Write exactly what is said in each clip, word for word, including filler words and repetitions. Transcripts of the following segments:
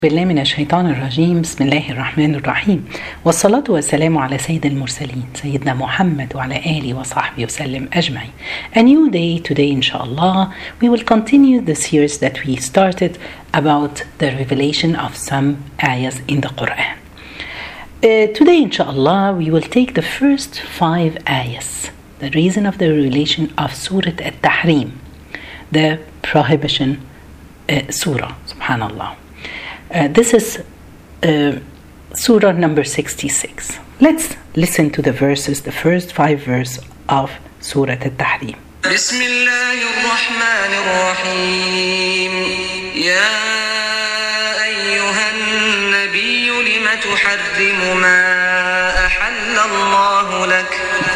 بالله من الشيطان الرجيم. بسم الله الرحمن الرحيم، والصلاة والسلام على سيد المرسلين سيدنا محمد وعلى آله وصحبه وسلم أجمعين. A new day today, inshallah. We will continue the series that we started about the revelation of some ayahs in the Quran. Uh, today, inshallah, we will take the first five ayahs, the reason of the revelation of Surah At-Tahrim, the prohibition uh, surah, subhanallah. Uh, this is uh, Surah number sixty-six. Let's listen to the verses, the first five verses of Surah At-Tahrim. بسم الله الرحمن الرحيم. يا أيها النبي لم تحرم ما أحل الله لك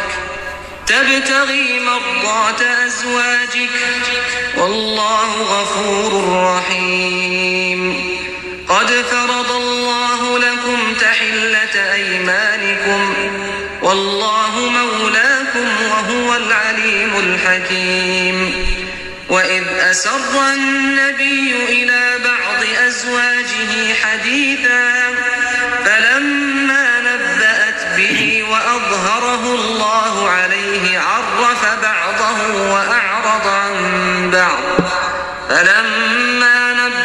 تبتغي مرضات أزواجك والله غفور رحيم. قد فرض الله لكم تحلة أيمانكم والله مولاكم وهو العليم الحكيم. وإذ أسر النبي إلى بعض أزواجه حديثا فلما نبأت به وأظهره الله عليه عرف بعضه وأعرض عن بعض. فلما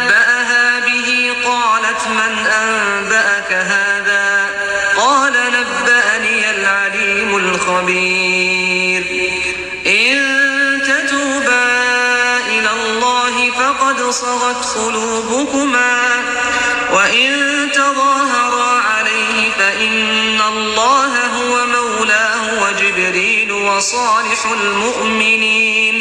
من أنبأك هذا قال نبأني العليم الخبير. إن تتوبا إلى الله فقد صغت قلوبكما وإن تظاهرا عليه فإن الله هو مولاه وجبريل وصالح المؤمنين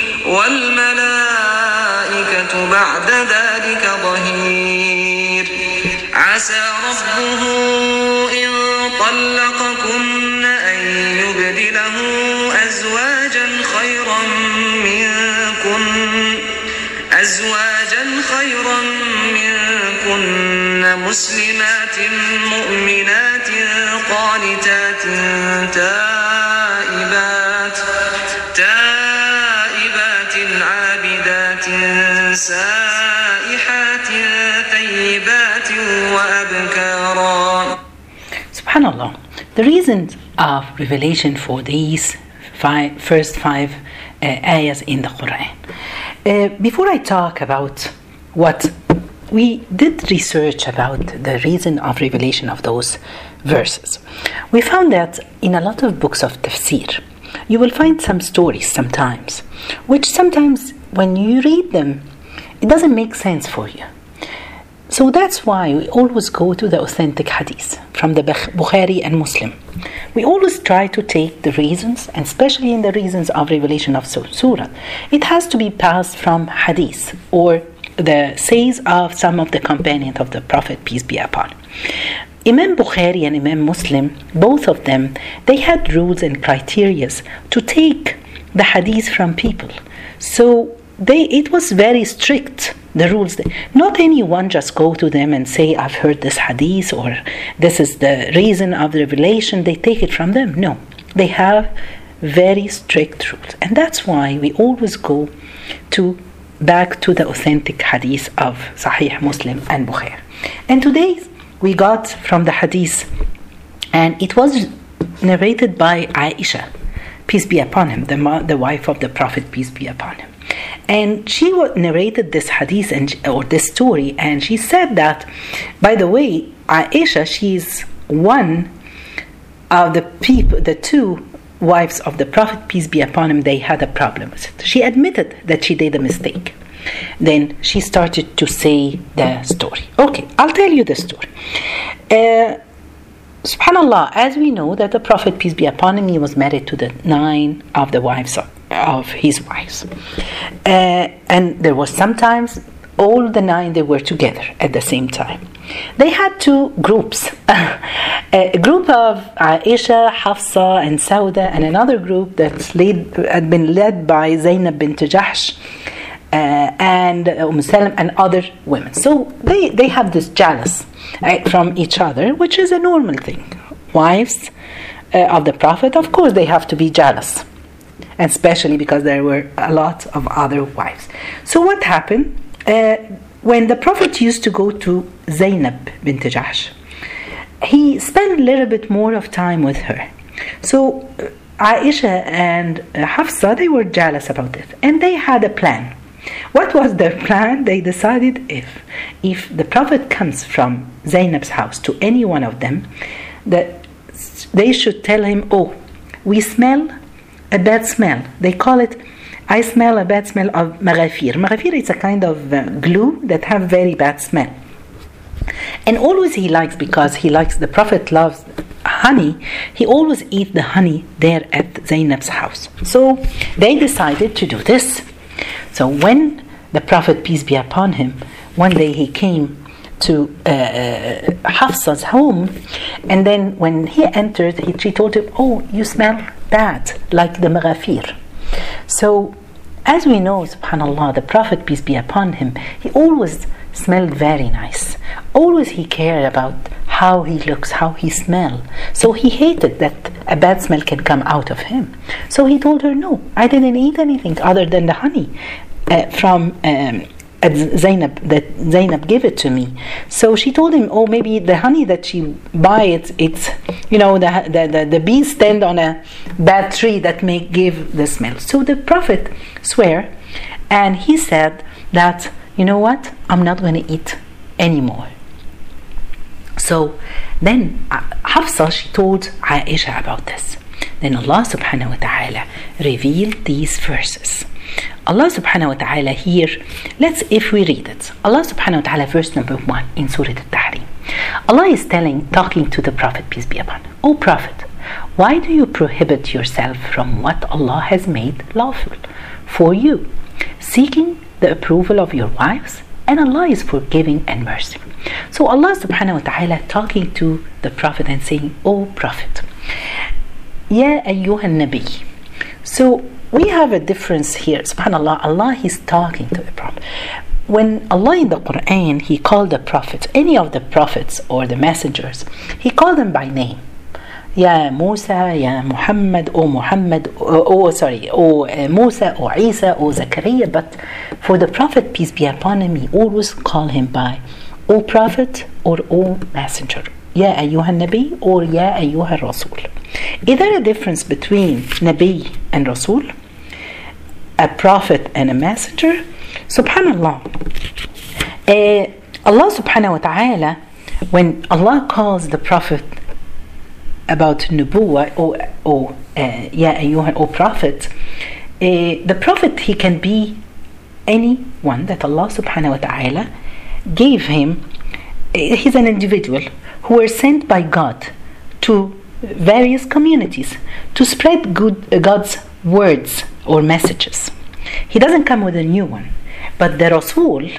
والملائكة بعد ذلك ظهير. عسى ربه إن طلقكن أن يبدله أزواجا خيرا منكن أزواجا خيرا منكن مسلمات مؤمنات قانتات تائبات تائبات عابدات سائحات ثيبات وأبكارا. Subhanallah. The reasons of revelation for these five, first five uh, ayahs in the Quran. Uh, before I talk about what we did research about the reason of revelation of those verses, we found that in a lot of books of tafsir, you will find some stories sometimes, which sometimes when you read them, it doesn't make sense for you. So that's why we always go to the authentic hadith from the Bukhari and Muslim. We always try to take the reasons, and especially in the reasons of revelation of surah, it has to be passed from hadith or the says of some of the companions of the Prophet, peace be upon him. Imam Bukhari and Imam Muslim, both of them, they had rules and criteria to take the hadith from people. So They, it was very strict, the rules. Not anyone just go to them and say, I've heard this hadith or this is the reason of the revelation. They take it from them. No, they have very strict rules. And that's why we always go to back to the authentic hadith of Sahih Muslim and Bukhari. And today we got from the hadith, and it was narrated by Aisha, peace be upon him, the, the wife of the Prophet, peace be upon him. And she narrated this hadith and or this story, and she said that, by the way, Aisha, she's one of the people, the two wives of the Prophet, peace be upon him, they had a problem with it. She admitted that she did a mistake. Then she started to say the story. Okay, I'll tell you the story. Uh, Subhanallah, as we know that the Prophet, peace be upon him, he was married to the nine of the wives of, of his wives. Uh, and there was sometimes all the nine, they were together at the same time. They had two groups. A group of Aisha, Hafsa and Sauda, and another group that led, had been led by Zainab bint Jahsh uh, and Umm Salam and other women. So they, they have this jealous from each other, which is a normal thing. Wives uh, of the Prophet, of course, they have to be jealous, and especially because there were a lot of other wives. So what happened? Uh, when the Prophet used to go to Zainab bint Jahsh, he spent a little bit more of time with her. So Aisha and Hafsa, they were jealous about it, and they had a plan. What was their plan? They decided if if the Prophet comes from Zainab's house to any one of them, that they should tell him, oh, we smell a bad smell. They call it, I smell a bad smell of maghafir. Maghafir is a kind of uh, glue that have very bad smell. And always he likes, because he likes, the Prophet loves honey, he always eat the honey there at Zainab's house. So they decided to do this. So when the Prophet, peace be upon him, one day he came to uh, uh, Hafsa's home, and then when he entered, he, she told him, oh, you smell bad, like the maghafir. So as we know, subhanallah, the Prophet, peace be upon him, he always smelled very nice. Always he cared about how he looks, how he smells. So he hated that a bad smell can come out of him. So he told her, no, I didn't eat anything other than the honey uh, from um, Zainab, that Zainab gave it to me. So she told him, oh, maybe the honey that she buy, it's, it's you know, the, the, the, the bees stand on a bad tree that may give the smell. So the Prophet swear, and he said that, you know what, I'm not going to eat anymore. So then uh, Hafsa, she told Aisha about this. Then Allah subhanahu wa ta'ala revealed these verses. Allah subhanahu wa ta'ala here, let's, if we read it, Allah subhanahu wa ta'ala, verse number one in Surah Al-Tahrim. Allah is telling, talking to the Prophet, peace be upon him, O Prophet, why do you prohibit yourself from what Allah has made lawful for you, seeking the approval of your wives? And Allah is forgiving and merciful. So Allah subhanahu wa ta'ala talking to the Prophet and saying, O Prophet, Ya ayyuhan nabi. So we have a difference here. Subhanallah, Allah is talking to the Prophet. When Allah in the Quran, He called the Prophet, any of the prophets or the messengers, He called them by name. Ya Musa, Ya Muhammad, O Muhammad, oh, oh sorry, O uh, Musa, O Isa, O Zakaria. But for the Prophet, peace be upon him, He always call him by O Prophet or O Messenger. Ya ayyuhan Nabi or Ya ayyuhan Rasul. Is there a difference between Nabi and Rasul? A prophet and a messenger? Subhanallah. Uh, Allah subhanahu wa ta'ala, when Allah calls the Prophet about Nubuwa or, or uh, Ya ayyuhan, O Prophet, uh, the Prophet, he can be anyone that Allah subhanahu wa ta'ala gave him. Uh, he's an individual who were sent by God to various communities to spread good uh, God's words or messages. He doesn't come with a new one, but the Rasul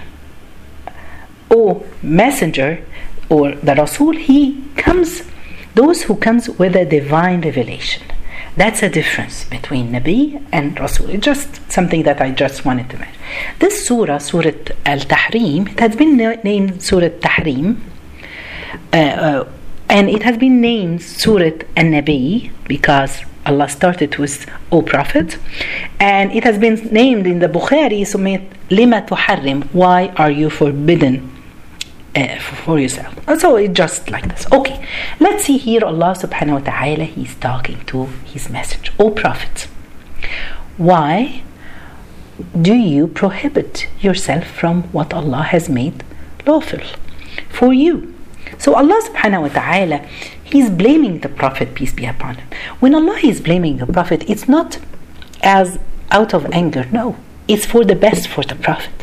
or messenger or the Rasul, he comes, those who comes with a divine revelation. That's a difference between Nabi and Rasul. It's just something that I just wanted to mention. This surah, Surah Al-Tahrim, it has been named Surah Tahrim, uh, uh, and it has been named Surah An-Nabi because Allah started with O Prophet, and it has been named in the Bukhari, Lima tuharrim, why are you forbidden uh, for yourself? So it's just like this. Okay, let's see here Allah subhanahu wa ta'ala, He's talking to His messenger. O Prophet, why do you prohibit yourself from what Allah has made lawful for you? So Allah subhanahu wa ta'ala, He's blaming the Prophet, peace be upon him. When Allah is blaming the Prophet, it's not as out of anger, no. It's for the best for the Prophet.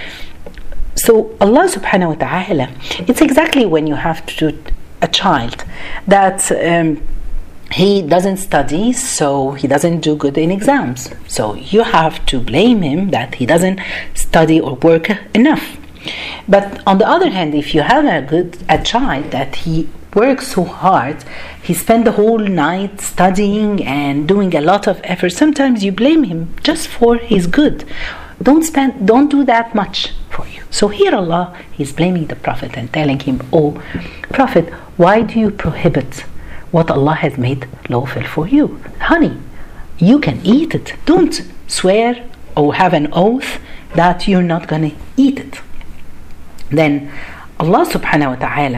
So Allah subhanahu wa ta'ala, it's exactly when you have to do a child that um, he doesn't study, so he doesn't do good in exams. So you have to blame him that he doesn't study or work enough. But on the other hand, if you have a good a child that he works so hard, he spent the whole night studying and doing a lot of effort, sometimes you blame him just for his good. Don't spend, don't do that much for you. So here Allah is blaming the Prophet and telling him, oh Prophet, why do you prohibit what Allah has made lawful for you? Honey, you can eat it. Don't swear or have an oath that you're not going to eat it. Then Allah subhanahu wa ta'ala,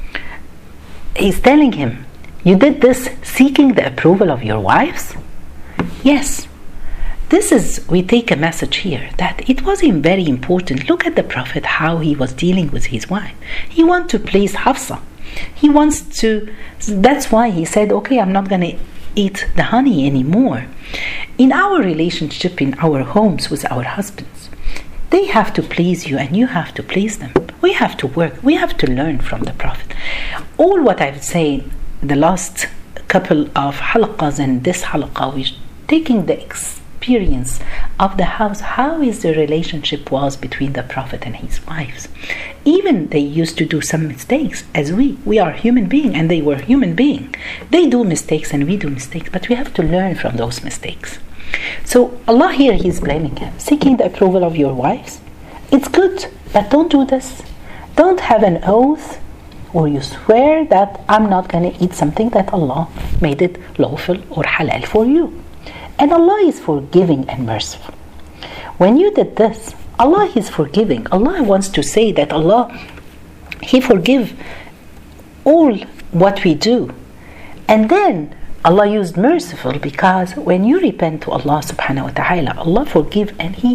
He's telling him, you did this seeking the approval of your wives? Yes. This is, we take a message here that it was very important. Look at the Prophet, how he was dealing with his wife. He wants to please Hafsa. He wants to, that's why he said, okay, I'm not going to eat the honey anymore. In our relationship, in our homes with our husbands, they have to please you and you have to please them. We have to work. We have to learn from the Prophet. All what I've said the last couple of halaqas and this halaqa, we're taking the experience of the house, how is the relationship was between the Prophet and his wives. Even they used to do some mistakes, as we we are human beings and they were human beings. They do mistakes and we do mistakes, but we have to learn from those mistakes. So Allah here, He's blaming him, seeking the approval of your wives. It's good, but don't do this. Don't have an oath or you swear that I'm not going to eat something that Allah made it lawful or halal for you. And Allah is forgiving and merciful. When you did this, Allah is forgiving. Allah wants to say that Allah, He forgive all what we do. And then Allah used merciful because when you repent to Allah subhanahu wa ta'ala, Allah forgive and He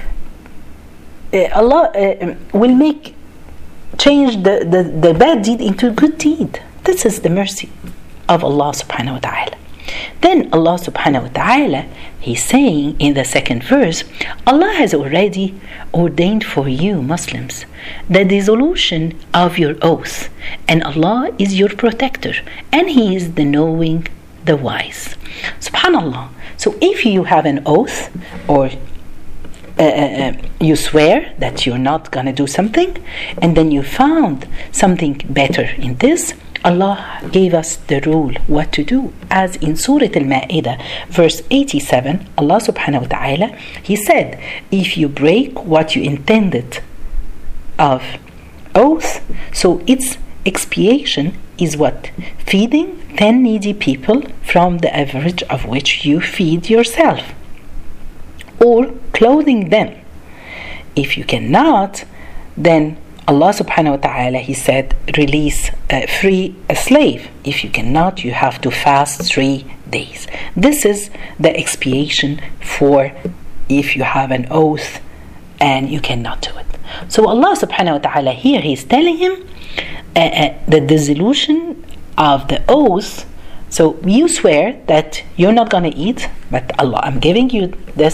uh, Allah uh, will make change the, the, the bad deed into a good deed. This is the mercy of Allah subhanahu wa ta'ala. Then Allah subhanahu wa ta'ala, He's saying in the second verse, Allah has already ordained for you Muslims the dissolution of your oath, and Allah is your protector and He is the knowing, the wise. Subhanallah. So if you have an oath or Uh, uh, you swear that you're not going to do something and then you found something better in this, Allah gave us the rule what to do. As in Surah Al-Ma'idah verse eighty-seven, Allah subhanahu wa ta'ala, He said, if you break what you intended of oath, so its expiation is what? Feeding ten needy people from the average of which you feed yourself, or clothing them. If you cannot, then Allah subhanahu wa ta'ala, He said, release, uh, free a slave. If you cannot, you have to fast three days. This is the expiation for if you have an oath and you cannot do it. So Allah subhanahu wa ta'ala here, He's telling him uh, uh, the dissolution of the oath. So you swear that you're not going to eat, but Allah, I'm giving you this,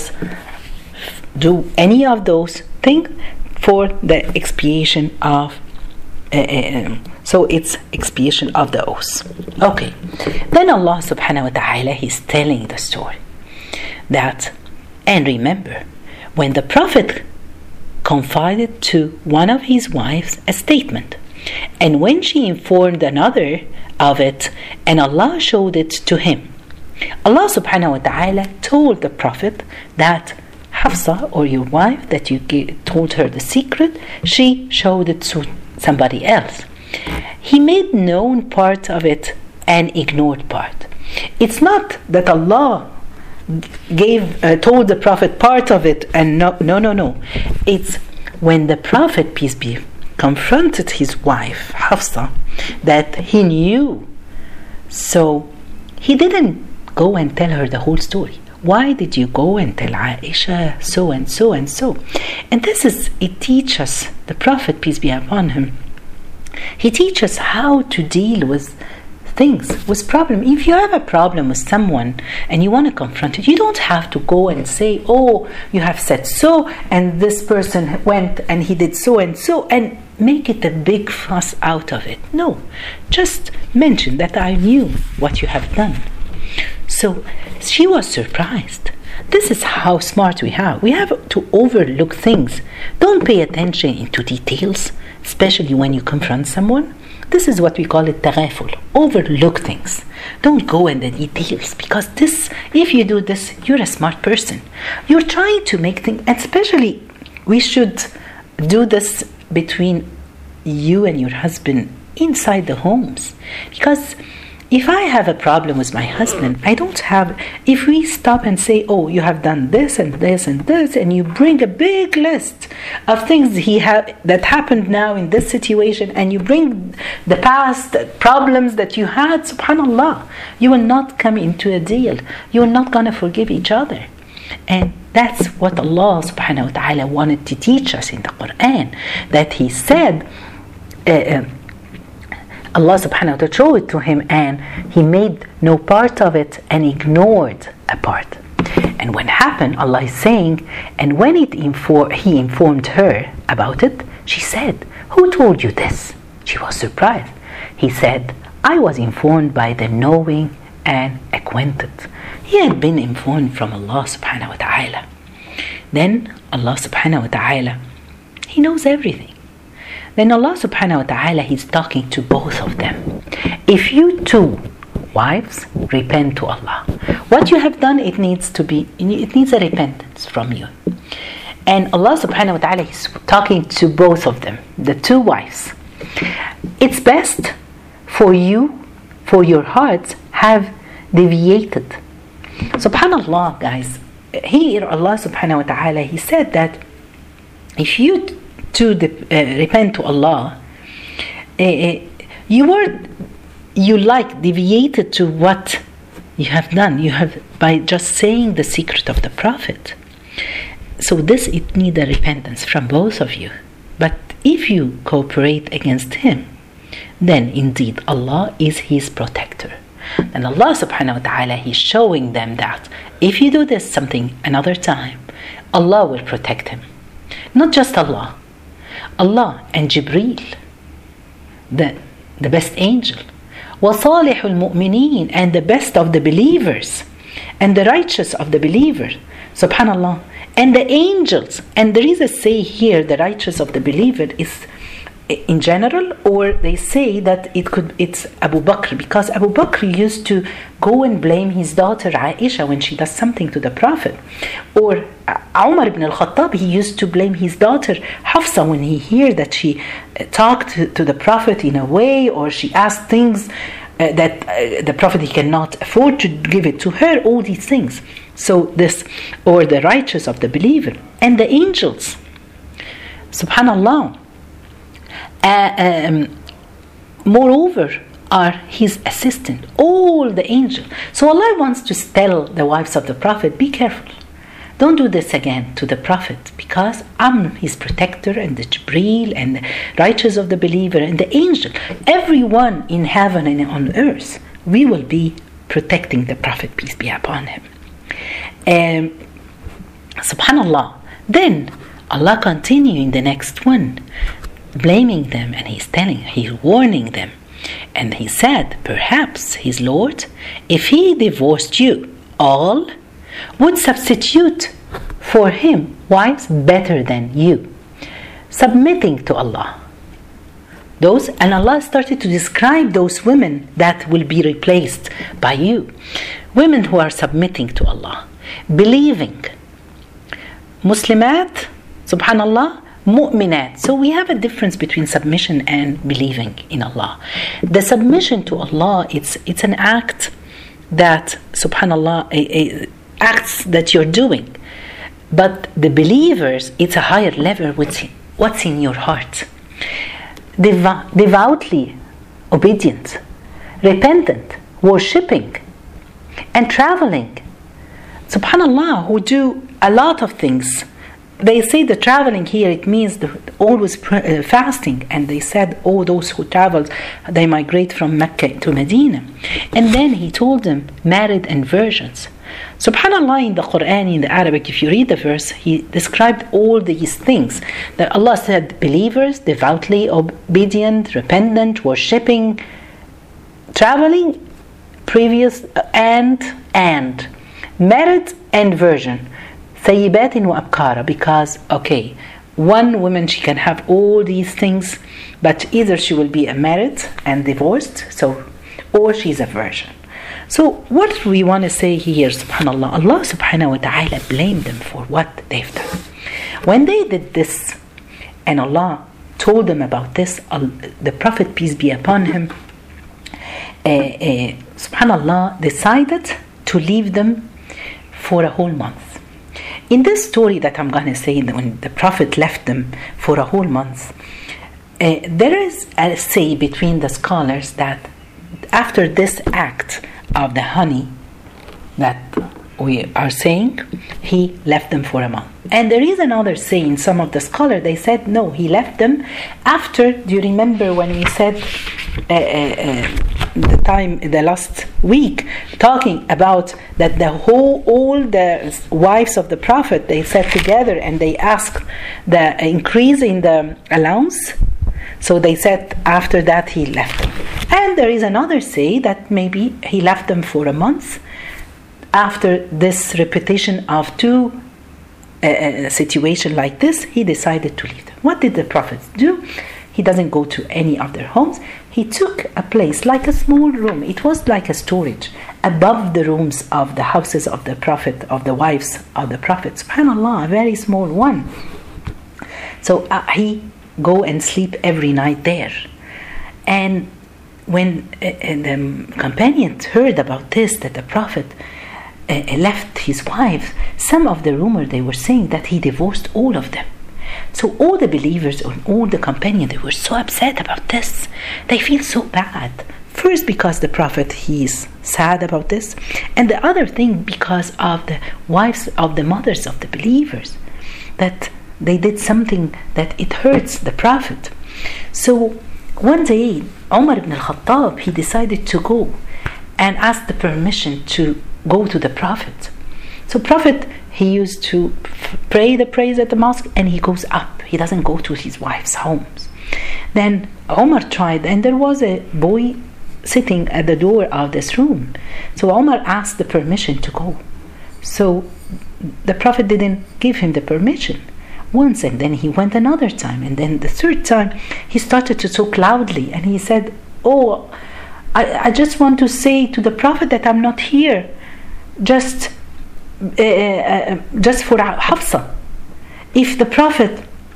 do any of those things for the expiation of, uh, uh, so it's expiation of the oath. Okay. Then Allah subhanahu wa ta'ala, He's telling the story that, and remember, when the Prophet confided to one of his wives a statement, and when she informed another of it, and Allah showed it to him, Allah subhanahu wa ta'ala told the Prophet that Hafsa, or your wife, that you gave, told her the secret, she showed it to somebody else. He made known part of it and ignored part. It's not that Allah gave uh, told the Prophet part of it and no no no no. It's when the Prophet, peace be, confronted his wife Hafsa that he knew. So he didn't go and tell her the whole story. Why did you go and tell Aisha so and so and so? And this is, it teaches the Prophet, peace be upon him, he teaches how to deal with things, with problem. If you have a problem with someone and you want to confront it, you don't have to go and say, oh, you have said so and this person went and he did so and so, and make it a big fuss out of it. No, just mention that I knew what you have done. So she was surprised. This is how smart we have. We have to overlook things. Don't pay attention into details, especially when you confront someone. This is what we call it taghaful. Overlook things. Don't go in the details, because this, if you do this, you're a smart person. You're trying to make things, and especially we should do this between you and your husband inside the homes, because If I have a problem with my husband, I don't have, if we stop and say, oh, you have done this and this and this, and you bring a big list of things he have that happened now in this situation, and you bring the past problems that you had, subhanallah, you will not come into a deal. You are not going to forgive each other. And that's what Allah subhanahu wa ta'ala wanted to teach us in the Quran, that He said, uh, Allah subhanahu wa ta'ala showed it to him, and he made no part of it and ignored a part. And when it happened, Allah is saying, and when it infor- he informed her about it, she said, who told you this? She was surprised. He said, I was informed by the knowing and acquainted. He had been informed from Allah subhanahu wa ta'ala. Then Allah subhanahu wa ta'ala, He knows everything. Then Allah subhanahu wa ta'ala, He's talking to both of them. If you two wives repent to Allah, what you have done, it needs to be, it needs a repentance from you. And Allah subhanahu wa ta'ala is talking to both of them, the two wives. It's best for you, for your hearts have deviated. Subhanallah, guys, here Allah subhanahu wa ta'ala, He said that if you to the, uh, repent to Allah, uh, you were, you like deviated to what you have done. You have, by just saying the secret of the Prophet. So this, it needs a repentance from both of you. But if you cooperate against him, then indeed Allah is his protector. And Allah subhanahu wa ta'ala, He's showing them that if you do this something another time, Allah will protect him. Not just Allah. Allah and Jibreel, the, the best angel, وَصَالِحُ الْمُؤْمِنِينَ, and the best of the believers, and the righteous of the believers, subhanallah, and the angels. And there is a say here, the righteous of the believer is in general, or they say that it could, it's Abu Bakr, because Abu Bakr used to go and blame his daughter Aisha when she does something to the Prophet, or Umar ibn al-Khattab, he used to blame his daughter Hafsa when he heard that she talked to the Prophet in a way, or she asked things uh, that uh, the Prophet, he cannot afford to give it to her, all these things. So this, or the righteous of the believer, and the angels, subhanallah. Uh, um, moreover, are his assistant, all the angels. So Allah wants to tell the wives of the Prophet, be careful. Don't do this again to the Prophet, because I'm his protector, and the Jibreel, and the righteous of the believer, and the angel. Everyone in heaven and on earth, we will be protecting the Prophet, peace be upon him. Um, Subhanallah. Then Allah continue in the next one, blaming them, and he's telling, he's warning them. And he said, perhaps his Lord, if he divorced you all, would substitute for him wives better than you, submitting to Allah. Those, and Allah started to describe those women that will be replaced by you. Women who are submitting to Allah, believing. Muslimat, subhanallah, mu'minat. So we have a difference between submission and believing in Allah. The submission to Allah, it's it's an act that, subhanallah, a, a, acts that you're doing. But the believers, it's a higher level with what's in your heart. Devo- devoutly obedient, repentant, worshipping, and traveling. Subhanallah, who do a lot of things. They say the traveling here, it means the, always pr- uh, fasting. And they said, oh, those who traveled, they migrate from Mecca to Medina. And then he told them, married and virgins. Subhanallah, in the Quran, in the Arabic, if you read the verse, he described all these things. That Allah said, believers, devoutly obedient, repentant, worshipping, traveling, previous, and, and, married and virgin. Sayyibatin wa abkara, because, okay, one woman, she can have all these things, but either she will be a married and divorced, so, or she's a virgin. So what we want to say here, subhanallah, Allah subhanahu wa ta'ala blamed them for what they've done. When they did this, and Allah told them about this, the Prophet, peace be upon him, uh, uh, subhanallah, decided to leave them for a whole month. In this story that I'm going to say, when the Prophet left them for a whole month, uh, there is a say between the scholars that after this act of the honey that we are saying, he left them for a month. And there is another saying, some of the scholars, they said, no, he left them after, do you remember when we said uh, uh, uh, the time, the last week, talking about that the whole, all the wives of the Prophet, they sat together and they asked the increase in the allowance. So they said after that he left them. And there is another say that maybe he left them for a month. After this repetition of two uh, situations like this, he decided to leave them. What did the Prophet do? He doesn't go to any of their homes. He took a place like a small room. It was like a storage above the rooms of the houses of the Prophet, of the wives of the Prophet. SubhanAllah, a very small one. So uh, he go and sleep every night there. And when uh, the companions heard about this, that the Prophet Uh, left his wives, some of the rumor they were saying that he divorced all of them. So all the believers and all the companions, they were so upset about this. They feel so bad. First, because the Prophet, he is sad about this, and the other thing because of the wives of the mothers of the believers, that they did something that it hurts the Prophet. So one day, Umar ibn al-Khattab, he decided to go and ask the permission to go to the Prophet. So Prophet, he used to f- pray the prayers at the mosque, and he goes up. He doesn't go to his wife's homes. Then Omar tried, and there was a boy sitting at the door of this room. So Omar asked the permission to go. So the Prophet didn't give him the permission once, and then he went another time, and then the third time he started to talk loudly, and he said, oh, I, I just want to say to the Prophet that I'm not here just uh, uh, just for Hafsa. If the Prophet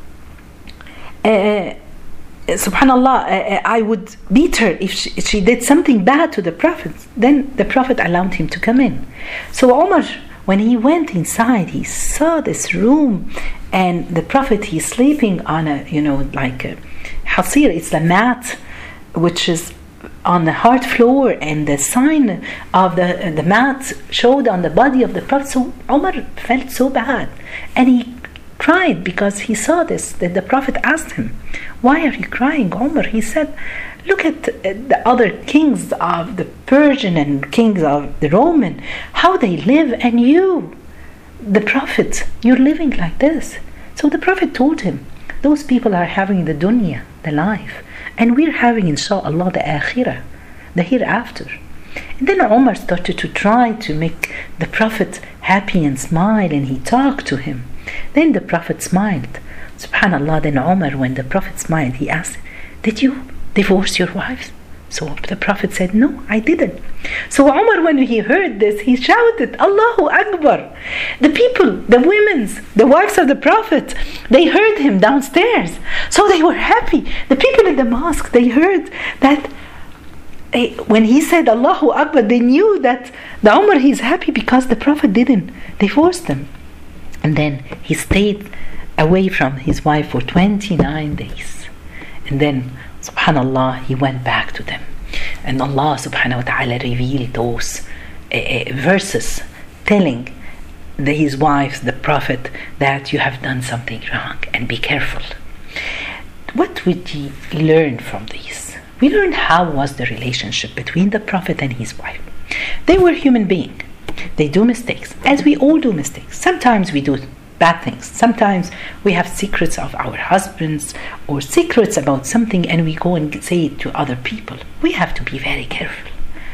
uh, subhanallah uh, I would beat her if she, if she did something bad to the Prophet, then the Prophet allowed him to come in. So Omar, when he went inside, he saw this room, and the Prophet, he's sleeping on a, you know, like a hasir, it's a mat which is on the hard floor, and the sign of the uh, the mat showed on the body of the Prophet. So Umar felt so bad, and he cried because he saw this. That the Prophet asked him, "Why are you crying, Umar?" He said, "Look at uh, the other kings of the Persian and kings of the Roman, how they live, and you, the Prophet, you're living like this." So the Prophet told him, "Those people are having the dunya, the life, and we're having, inshallah, the akhirah, the hereafter." And then Umar started to try to make the Prophet happy and smile, and he talked to him. Then the Prophet smiled. Subhanallah, then Umar, when the Prophet smiled, he asked, "Did you divorce your wives?" So the Prophet said, "No, I didn't." So Umar, when he heard this, he shouted, "Allahu Akbar." The people, the women's, the wives of the Prophet, they heard him downstairs. So they were happy. The people in the mosque, they heard that eh, when he said Allahu Akbar, they knew that the Umar, he's happy because the Prophet didn't divorce them. And then he stayed away from his wife for twenty-nine days. And then subhanallah, he went back to them, and Allah subhanahu wa ta'ala revealed those uh, uh, verses telling the, his wives, the Prophet, that you have done something wrong and be careful. What would we learn from these? We learned how was the relationship between the Prophet and his wife. They were human beings. They do mistakes, as we all do mistakes. Sometimes we do bad things. Sometimes we have secrets of our husbands or secrets about something, and we go and say it to other people. We have to be very careful.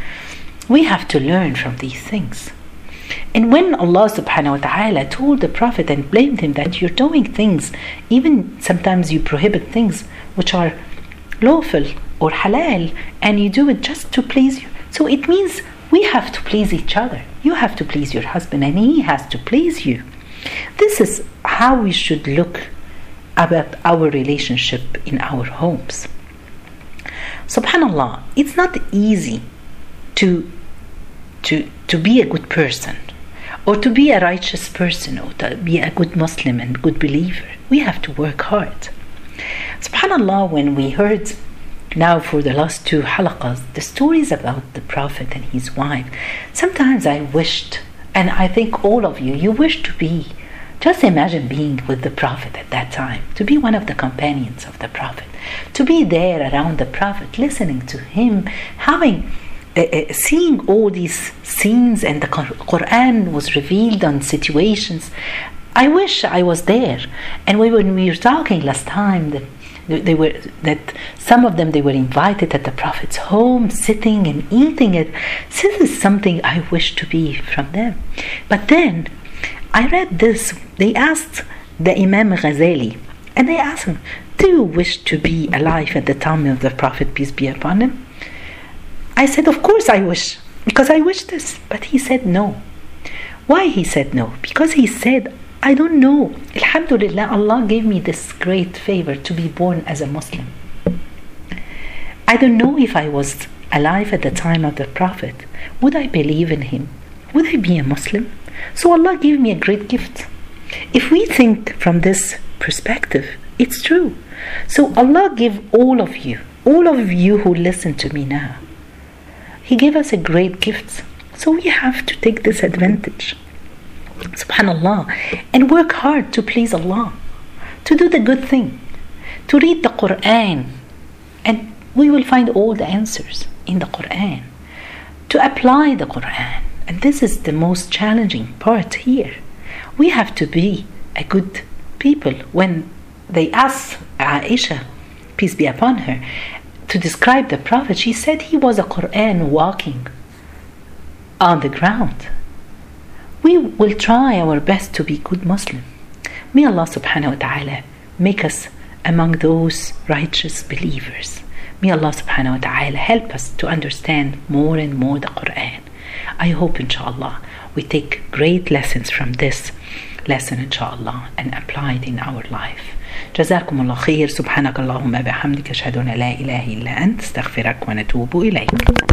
We have to learn from these things. And when Allah subhanahu wa ta'ala told the Prophet and blamed him that you're doing things, even sometimes you prohibit things which are lawful or halal, and you do it just to please you. So it means we have to please each other. You have to please your husband, and he has to please you. This is how we should look about our relationship in our homes. Subhanallah, it's not easy to to to be a good person, or to be a righteous person, or to be a good Muslim and good believer, we have to work hard. SubhanAllah, when we heard now for the last two halaqas the stories about the Prophet and his wife, sometimes I wished, and I think all of you, you wish to be, just imagine being with the Prophet at that time, to be one of the companions of the Prophet, to be there around the Prophet, listening to him, having Uh, uh, seeing all these scenes, and the Quran was revealed on situations. I wish I was there. And we, when we were talking last time, that they were that some of them, they were invited at the Prophet's home, sitting and eating it. So this is something I wish to be from them. But then I read this. They asked the Imam Ghazali, and they asked him, "Do you wish to be alive at the time of the Prophet, peace be upon him?" I said, "Of course I wish, because I wish this." But he said no. Why he said no? Because he said, "I don't know. Alhamdulillah, Allah gave me this great favor to be born as a Muslim. I don't know if I was alive at the time of the Prophet. Would I believe in him? Would I be a Muslim? So Allah gave me a great gift." If we think from this perspective, it's true. So Allah give all of you, all of you who listen to me now, He gave us a great gift. So we have to take this advantage, subhanallah, and work hard to please Allah, to do the good thing, to read the Quran, and we will find all the answers in the Quran, to apply the Quran. And this is the most challenging part here. We have to be a good people. When they asked Aisha, peace be upon her, to describe the Prophet, she said he was a Quran walking on the ground. We will try our best to be good Muslim. May Allah subhanahu wa ta'ala make us among those righteous believers. May Allah subhanahu wa ta'ala help us to understand more and more the Quran. I hope inshallah we take great lessons from this lesson inshallah and apply it in our life. جزاكم الله خير. سبحانك اللهم بحمدك أشهد أن لا إله إلا أنت استغفرك ونتوب إليك.